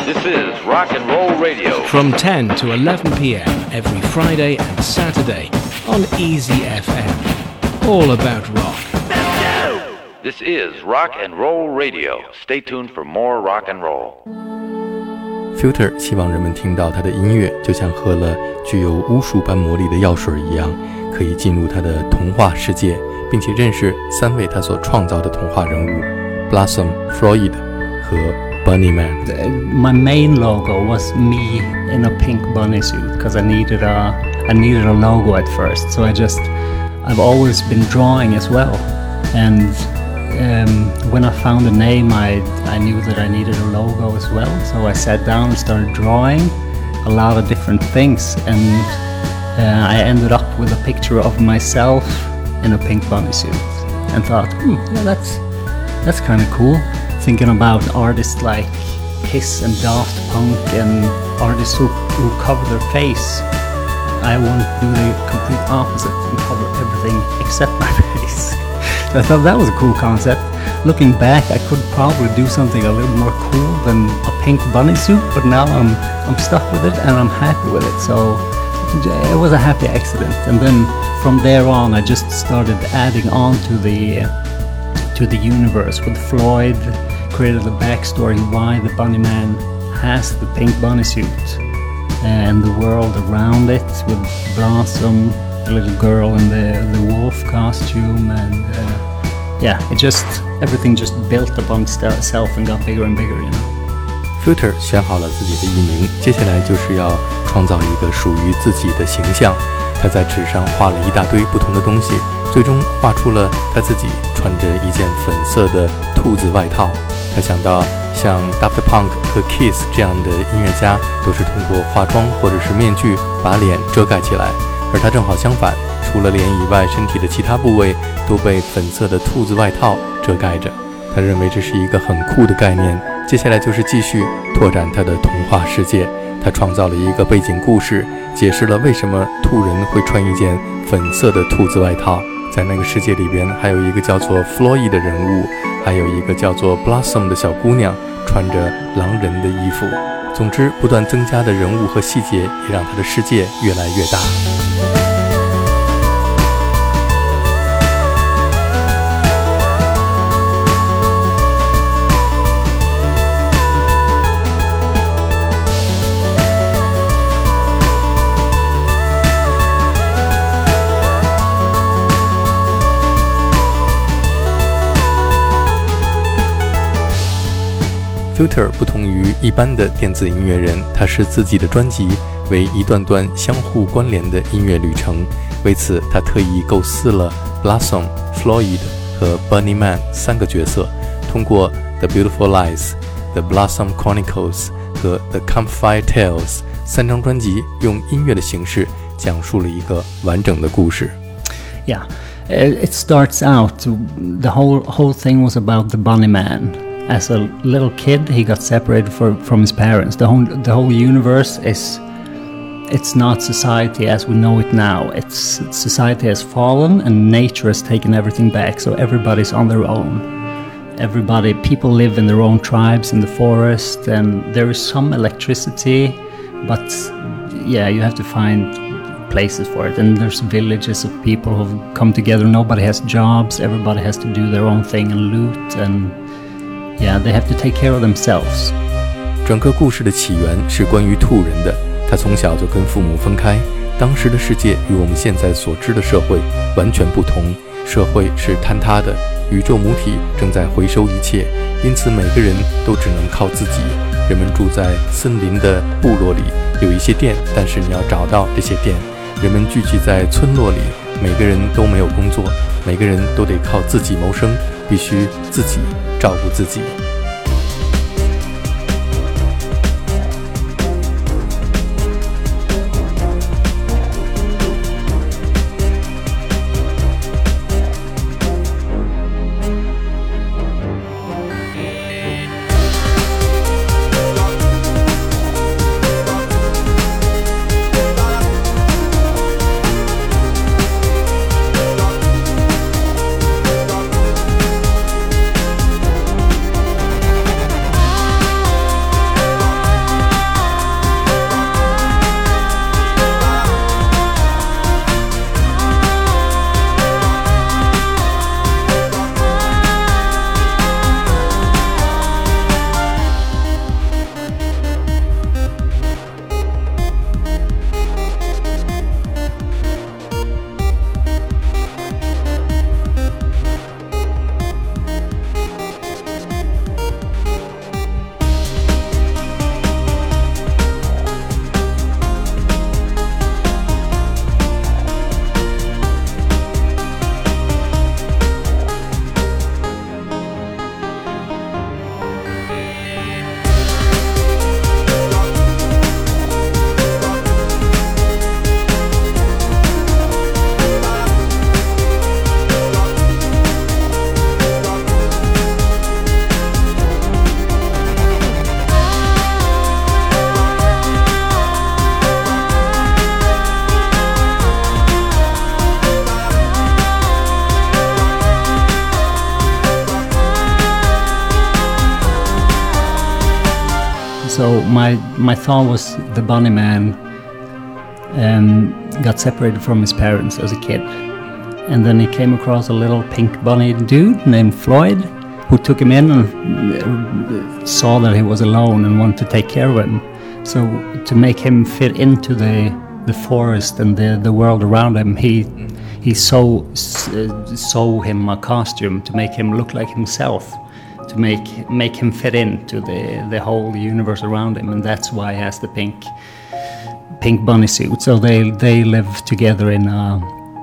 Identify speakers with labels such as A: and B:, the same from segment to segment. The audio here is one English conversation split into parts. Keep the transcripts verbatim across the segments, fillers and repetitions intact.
A: This is Rock and Roll Radio.
B: From ten to eleven p.m. every Friday and Saturday on Easy F M. All about rock.
A: This is Rock and Roll Radio. Stay tuned for more rock and roll.
C: Filter 希望人们听到他的音乐就像喝了具有巫术般魔力的药水一样，可以进入他的童话世界，并且认识三位他所创造的童话人物 Blossom, Floyd 和 Bunny Man.
D: My main logo was me in a pink bunny suit because I needed a I needed a logo at first. So I just I've always been drawing as well, and um, when I found a name, I I knew that I needed a logo as well. So I sat down and started drawing a lot of different things, and uh, I ended up with a picture of myself in a pink bunny suit, and thought, hmm, yeah, that's that's kind of cool. Thinking about artists like Kiss and Daft Punk and artists who, who cover their face, I want to do the complete opposite and cover everything except my face. So I thought that was a cool concept. Looking back, I could probably do something a little more cool than a pink bunny suit, but now I'm I'm stuck with it and I'm happy with it. So it was a happy accident. And then from there on, I just started adding on to the to the universe with Floyd. Created a backstory why the Bunny Man has the pink bunny suit and the world around it with Blossom, the little girl in the, the wolf costume, and uh, yeah, it just everything just built upon itself and got bigger and bigger, you know.
C: Filter 选好了自己的艺名，接下来就是要创造一个属于自己的形象。他在纸上画了一大堆不同的东西，最终画出了他自己穿着一件粉色的兔子外套。他想到像 Daft Punk 和 Kiss 这样的音乐家都是通过化妆或者是面具把脸遮盖起来，而他正好相反，除了脸以外，身体的其他部位都被粉色的兔子外套遮盖着。他认为这是一个很酷的概念，接下来就是继续拓展他的童话世界。他创造了一个背景故事，解释了为什么兔人会穿一件粉色的兔子外套。在那个世界里边，还有一个叫做 Floyd 的人物，还有一个叫做 Blossom 的小姑娘，穿着狼人的衣服。总之，不断增加的人物和细节，也让他的世界越来越大。Filter 不同于一般的电子音乐人，他视自己的专辑为一段段相互关联的音乐旅程。为此，他特意构思了 Blossom, Floyd 和 Bunny Man 三个角色，通过 The Beautiful Lies、The Blossom Chronicles 和 The Campfire Tales 三张专辑，用音乐的形式讲述了一个完整的故事。
D: Yeah, it starts out, the whole whole thing was about the Bunny Man.As a little kid, he got separated for, from his parents. The whole, the whole universe is, it's not society as we know it now. It's society has fallen and nature has taken everything back. So everybody's on their own. Everybody, people live in their own tribes in the forest, and there is some electricity, but yeah, you have to find places for it. And there's villages of people who've come together. Nobody has jobs. Everybody has to do their own thing and loot and...Yeah, they have to take care of themselves.
C: 整个故事的起源是关于兔人的。他从小就跟父母分开，当时的世界与我们现在所知的社会完全不同。社会是坍塌的，宇宙母体正在回收一切，因此每个人都只能靠自己。人们住在森林的部落里，有一些店，但是你要找到这些店。人们聚集在村落里，每个人都没有工作，每个人都得靠自己谋生，必须自己照顾自己。
D: So my my thought was the Bunny Man um, got separated from his parents as a kid, and then he came across a little pink bunny dude named Floyd, who took him in and saw that he was alone and wanted to take care of him. So to make him fit into the the forest and the the world around him, he he sew uh, sew him a costume to make him look like himself, to make make him fit into the the whole universe around him, and that's why he has the pink pink bunny suit. So they they live together in a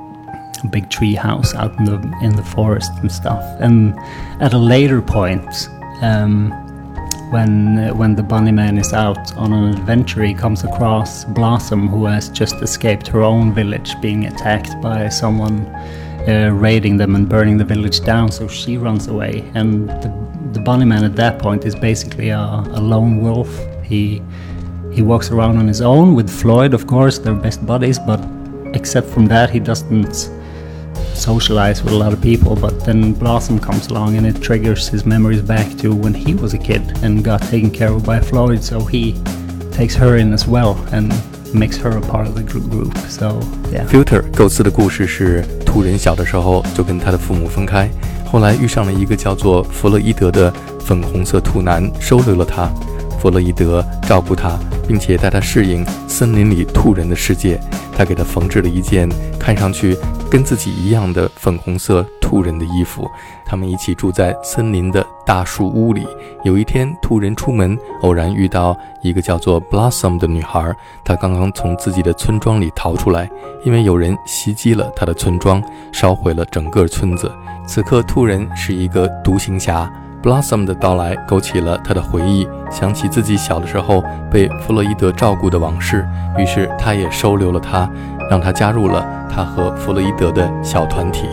D: big tree house out in the in the forest and stuff. And at a later point, um, when uh, when the Bunny Man is out on an adventure, he comes across Blossom, who has just escaped her own village being attacked by someone uh, raiding them and burning the village down. So she runs away, and the, the Bunny Man at that point is basically a, a lone wolf. He he walks around on his own with Floyd, of course, they're best buddies, but except from that, he doesn't socialize with a lot of people. But then Blossom comes along and it triggers his memories back to when he was a kid and got taken care of by Floyd, so he takes her in as well and makes her a part of the group. So yeah.
C: Filter 构思的故事是兔人小的时候就跟他的父母分开，后来遇上了一个叫做弗洛伊德的粉红色兔男，收留了他。弗洛伊德照顾他，并且带他适应森林里兔人的世界。他给他缝制了一件看上去跟自己一样的粉红色兔人的衣服。他们一起住在森林的大树屋里。有一天，兔人出门，偶然遇到一个叫做 Blossom 的女孩。她刚刚从自己的村庄里逃出来，因为有人袭击了她的村庄，烧毁了整个村子。此刻，兔人是一个独行侠。Blossom 的到来勾起了他的回忆，想起自己小的时候被弗洛伊德照顾的往事，于是他也收留了他，让他加入了他和弗洛伊德的小团体。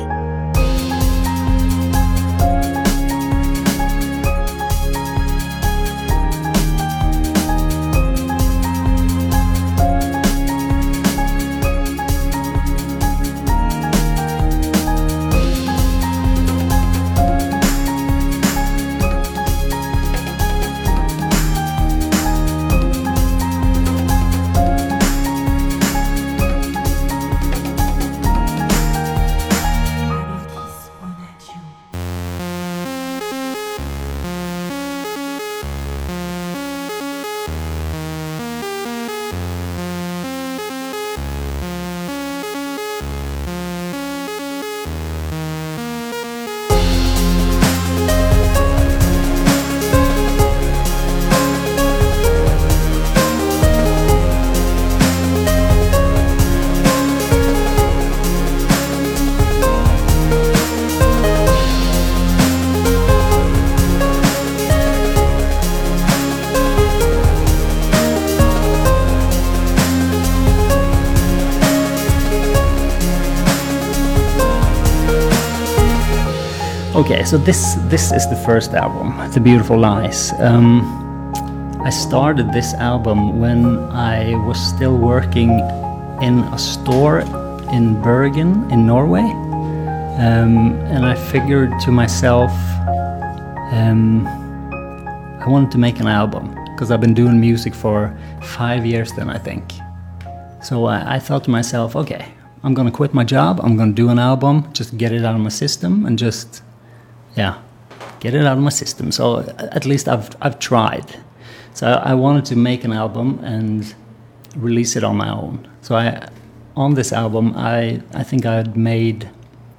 D: Okay, so this this is the first album, The Beautiful Lies. Um, I started this album when I was still working in a store in Bergen in Norway, um, and I figured to myself, um, I wanted to make an album because I've been doing music for five years then, I think. So I, I thought to myself, okay, I'm gonna quit my job, I'm gonna do an album, just get it out of my system and just yeah, get it out of my system. So at least I've I've tried. So I, I wanted to make an album and release it on my own. So I, on this album, I I think I had made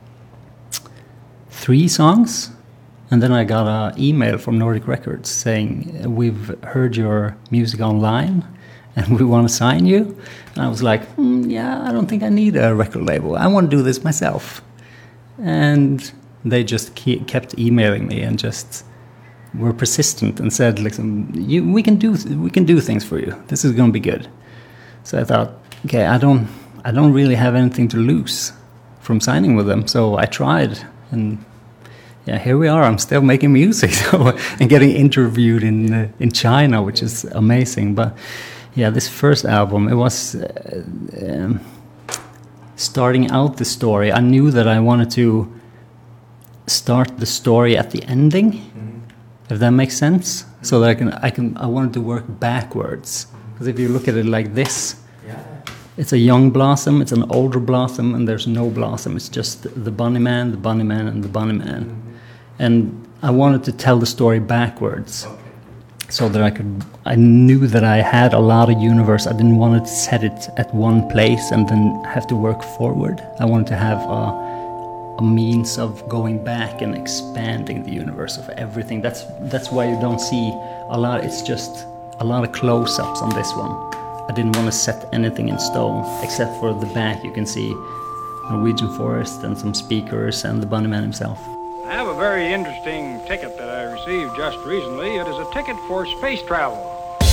D: three songs, and then I got an email from Nordic Records saying, "We've heard your music online, and we want to sign you." And I was like, mm, "Yeah, I don't think I need a record label. I want to do this myself." And they just keep, kept emailing me and just were persistent and said, "Listen, you, we can do we can do things for you. This is going to be good." So I thought, okay, I don't I don't really have anything to lose from signing with them. So I tried, and yeah, here we are. I'm still making music so, and getting interviewed in uh, in China, which is amazing. But yeah, this first album, it was uh, um, starting out the story. I knew that I wanted to start the story at the ending, mm-hmm. if that makes sense. so that I can, I can, I wanted to work backwards. Because if you look at it like this, it's a young blossom, it's an older blossom, and there's no blossom. It's just the bunny man, the bunny man, and the bunny man. Mm-hmm. And I wanted to tell the story backwards. Okay. So that I could, I knew that I had a lot of universe. I didn't want to set it at one place and then have to work forward. I wanted to have a, a means of going back and expanding the universe of everything. That's that's why you don't see a lot. It's just a lot of close-ups on this one. I didn't want to set anything in stone, except for the back. You can see Norwegian forest and some speakers and the bunny man himself.
E: I have a very interesting ticket that I received just recently. It is a ticket for space travel.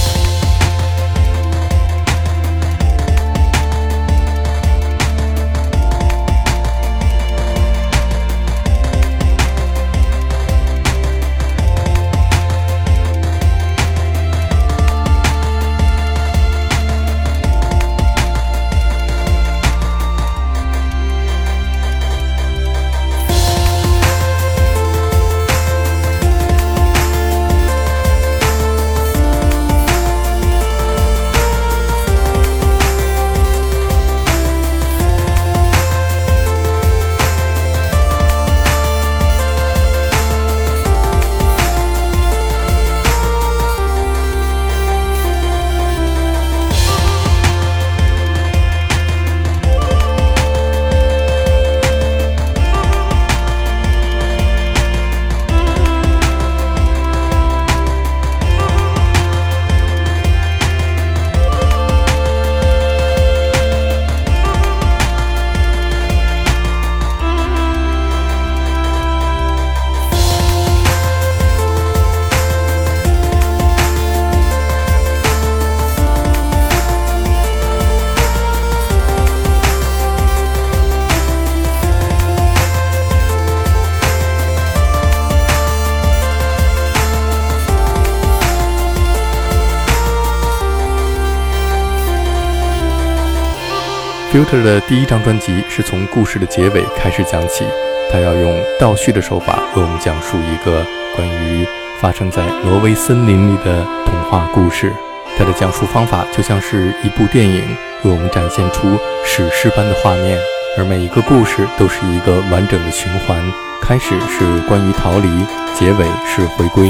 C: Filter 的第一张专辑是从故事的结尾开始讲起，他要用倒叙的手法为我们讲述一个关于发生在挪威森林里的童话故事。他的讲述方法就像是一部电影，为我们展现出史诗般的画面，而每一个故事都是一个完整的循环，开始是关于逃离，结尾是回归。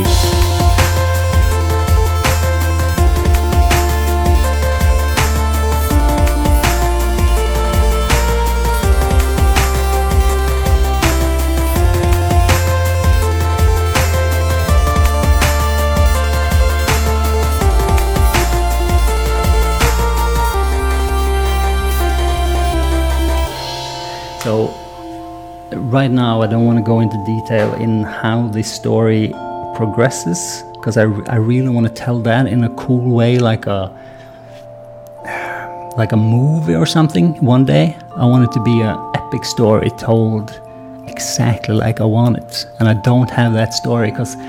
D: So right now I don't want to go into detail in how the story progresses, because I, I really want to tell that in a cool way, like a like a movie or something. One day I want it to be an epic story told exactly like I want it, and I don't have that story because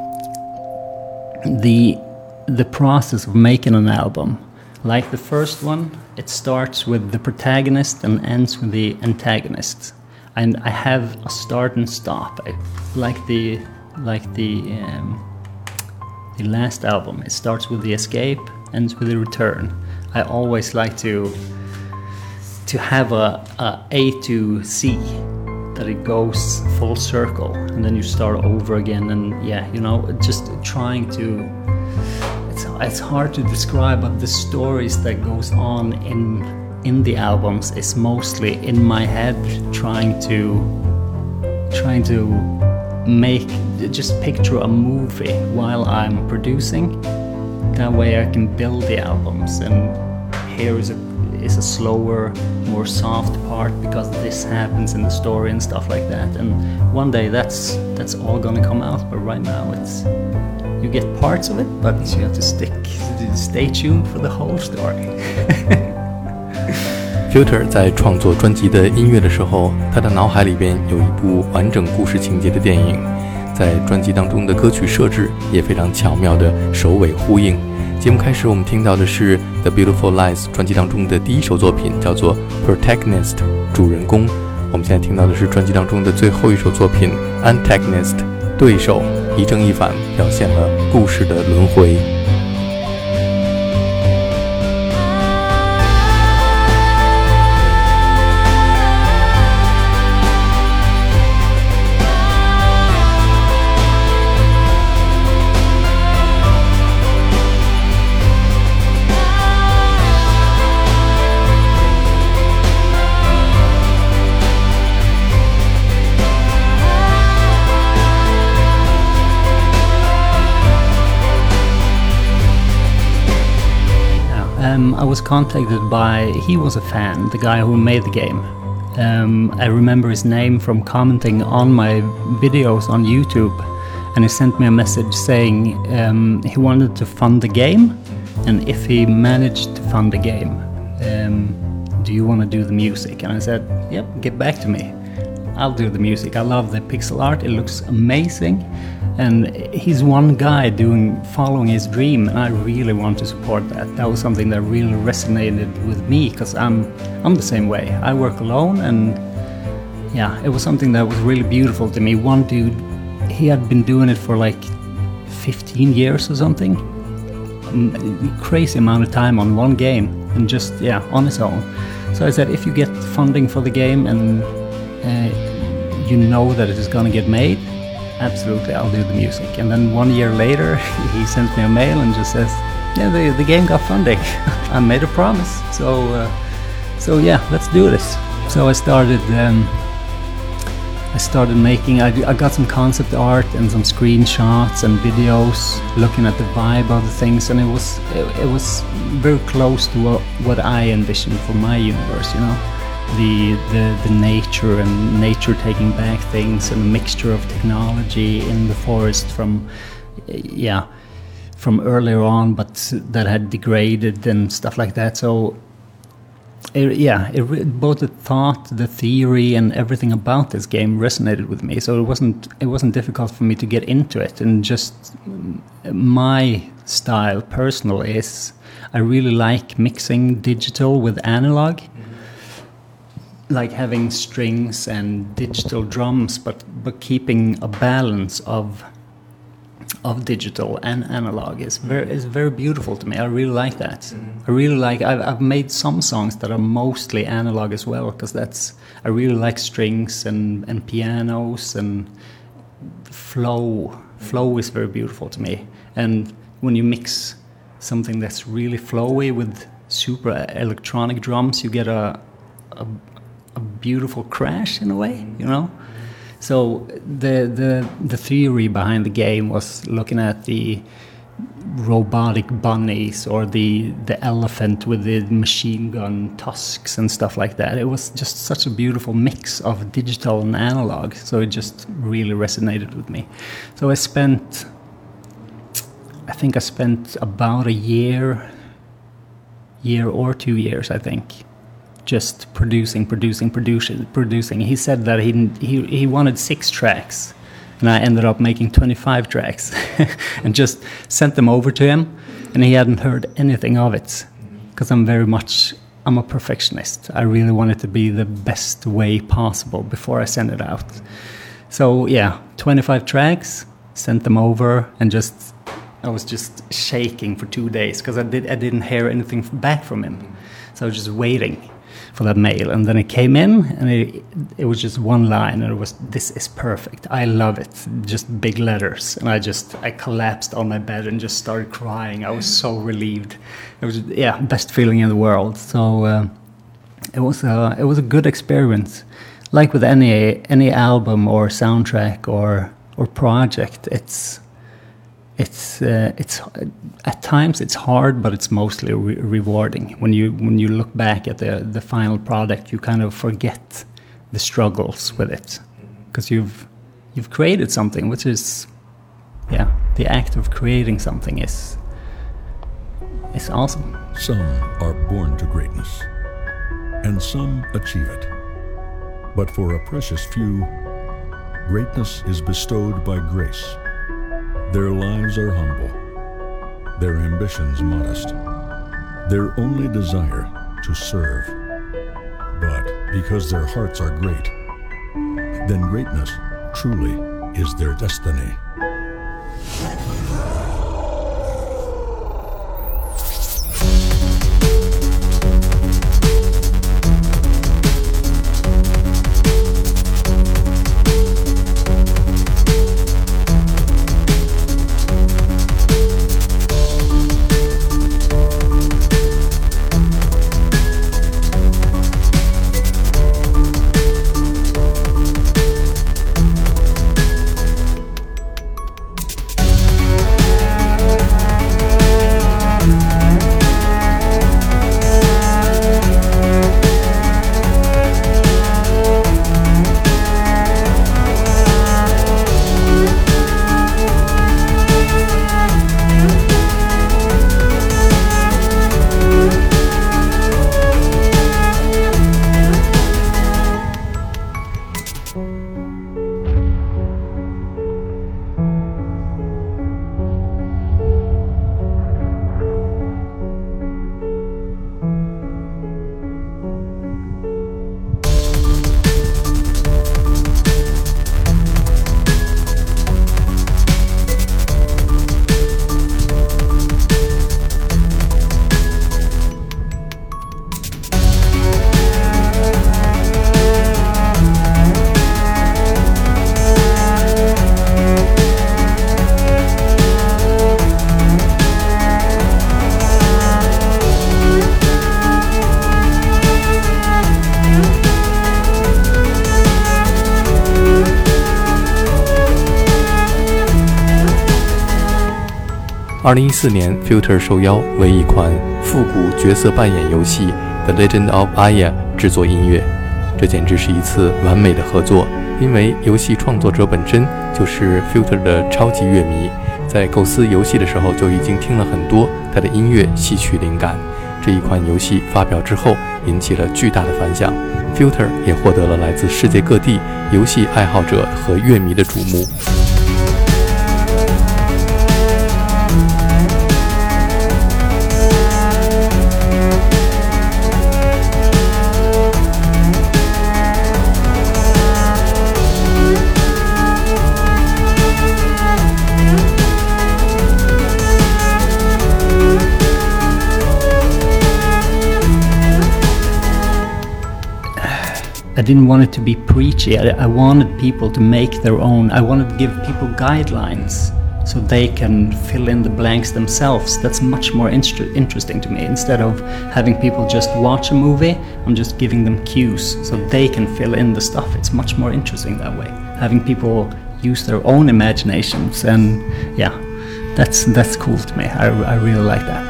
D: the the process of making an album, like the first one, it starts with the protagonist and ends with the antagonist, and I have a start and stop. I, like the like the um, the last album, it starts with the escape, ends with the return. I always like to to have a, a A to C, that it goes full circle, and then you start over again, and yeah, you know, just trying to. It's, it's hard to describe, but the stories that goes on in in the albums is mostly in my head, trying to trying to make just picture a movie while I'm producing. That way I can build the albums, and here is a is a slower, more soft part because this happens in the story and stuff like that. And one day that's that's all gonna come out, but right now it's. You get parts of it, but you have to stick, stay tuned for the whole story.
C: Filter 在创作专辑的音乐的时候，他的脑海里边有一部完整故事情节的电影，在专辑当中的歌曲设置也非常巧妙的首尾呼应。节目开始，我们听到的是 The Beautiful Lies 专辑当中的第一首作品，叫做 Protagonist 主人公。我们现在听到的是专辑当中的最后一首作品 Antagonist 对手，一正一反，表现了故事的轮回。
D: Um, I was contacted by, he was a fan, the guy who made the game. Um, I remember his name from commenting on my videos on YouTube, and he sent me a message saying um, he wanted to fund the game, and if he managed to fund the game, um, do you want to do the music? And I said, yep, get back to me. I'll do the music. I love the pixel art, it looks amazing. And he's one guy doing, following his dream, and I really want to support that. That was something that really resonated with me, because I'm, I'm the same way. I work alone, and yeah, it was something that was really beautiful to me. One dude, he had been doing it for like fifteen years or something. A crazy amount of time on one game, and just, yeah, on his own. So I said, if you get funding for the game, and uh, you know that it is gonna get made, absolutely, I'll do the music. And then one year later, he sent me a mail and just says, yeah, the, the game got funding. I made a promise. So, uh, so yeah, let's do this. So I started, um, I started making, I, I got some concept art and some screenshots and videos, looking at the vibe of the things, and it was, it, it was very close to what, what I envisioned for my universe, you know? The, the the nature and nature taking back things, and a mixture of technology in the forest from yeah from earlier on, but that had degraded and stuff like that. So it, yeah it, both the thought, the theory, and everything about this game resonated with me, so it wasn't it wasn't difficult for me to get into it. And just my style personally is I really like mixing digital with analog, like having strings and digital drums, but but keeping a balance of of digital and analog is very is very beautiful to me. I really like that. Mm-hmm. I really like. I've I've made some songs that are mostly analog as well, because that's I really like strings and and pianos and flow. Flow is very beautiful to me. And when you mix something that's really flowy with super electronic drums, you get a a a beautiful crash in a way, you know. So the the the theory behind the game was looking at the robotic bunnies or the the elephant with the machine gun tusks and stuff like that. It was just such a beautiful mix of digital and analog, so it just really resonated with me. So I spent I think I spent about a year year or two years I think just producing, producing, producing, producing. He said that he he he wanted six tracks, and I ended up making twenty-five tracks, and just sent them over to him, and he hadn't heard anything of it, because I'm very much I'm a perfectionist. I really want it to be the best way possible before I send it out. So yeah, twenty-five tracks, sent them over, and just I was just shaking for two days because I did I didn't hear anything back from him, so I was just waiting for that mail, and then it came in, and it, it was just one line, and it was, "This is perfect. I love it." Just big letters, and I just I collapsed on my bed and just started crying. I was so relieved. It was yeah, best feeling in the world. So uh, it was a it was a good experience. Like with any any album or soundtrack or or project, it's it's uh, it's at times it's hard, but it's mostly re- rewarding. When you when you look back at the the final product, you kind of forget the struggles with it, because you've you've created something, which is yeah, the act of creating something is is awesome.
F: Some are born to greatness, and some achieve it. But for a precious few, greatness is bestowed by grace. Their lives are humble, their ambitions modest, their only desire to serve. But because their hearts are great, then greatness truly is their destiny.
C: 二零一四年 Filter 受邀为一款复古角色扮演游戏 The Legend of Aya 制作音乐，这简直是一次完美的合作，因为游戏创作者本身就是 Filter 的超级乐迷，在构思游戏的时候就已经听了很多他的音乐吸取灵感。这一款游戏发表之后引起了巨大的反响， Filter 也获得了来自世界各地游戏爱好者和乐迷的瞩目。
D: I didn't want it to be preachy. I, I wanted people to make their own. I wanted to give people guidelines so they can fill in the blanks themselves. That's much more inter- interesting to me. Instead of having people just watch a movie, I'm just giving them cues so they can fill in the stuff. It's much more interesting that way. Having people use their own imaginations, and yeah, that's that's cool to me. I, I really like that.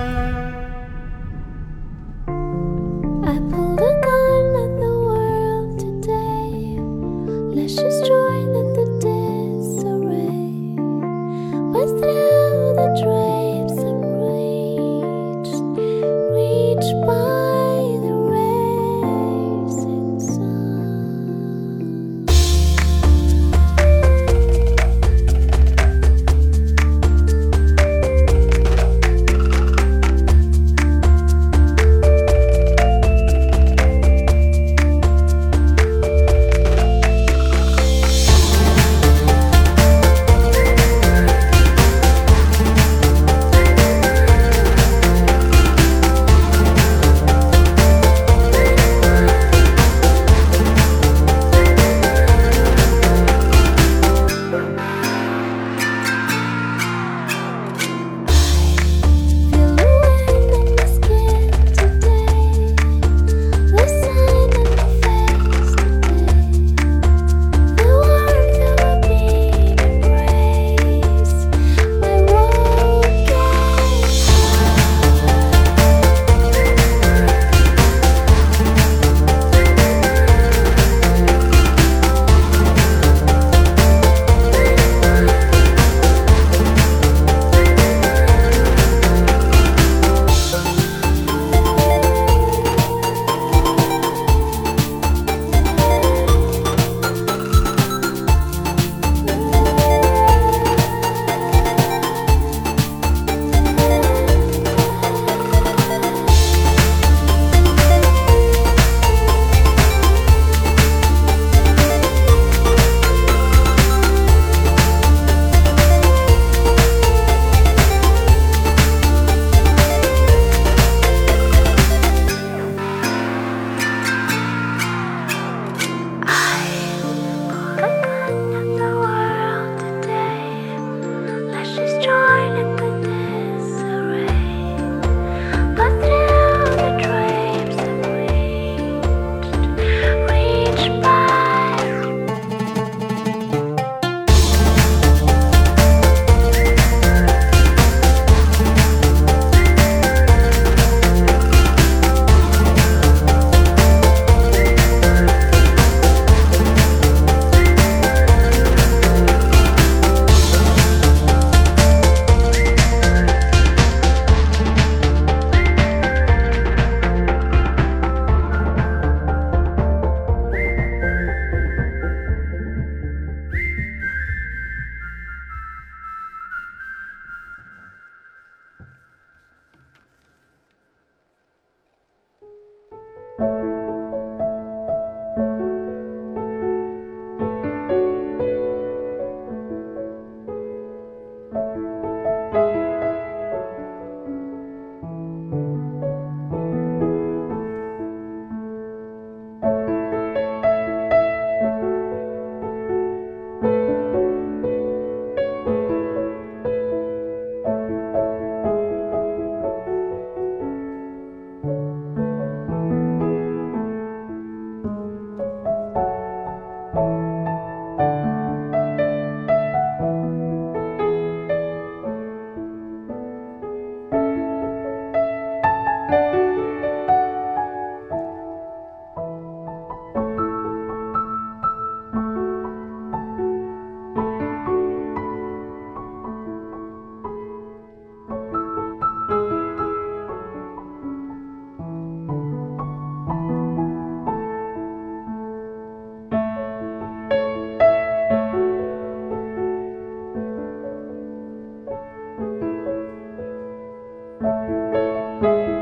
G: Thank you.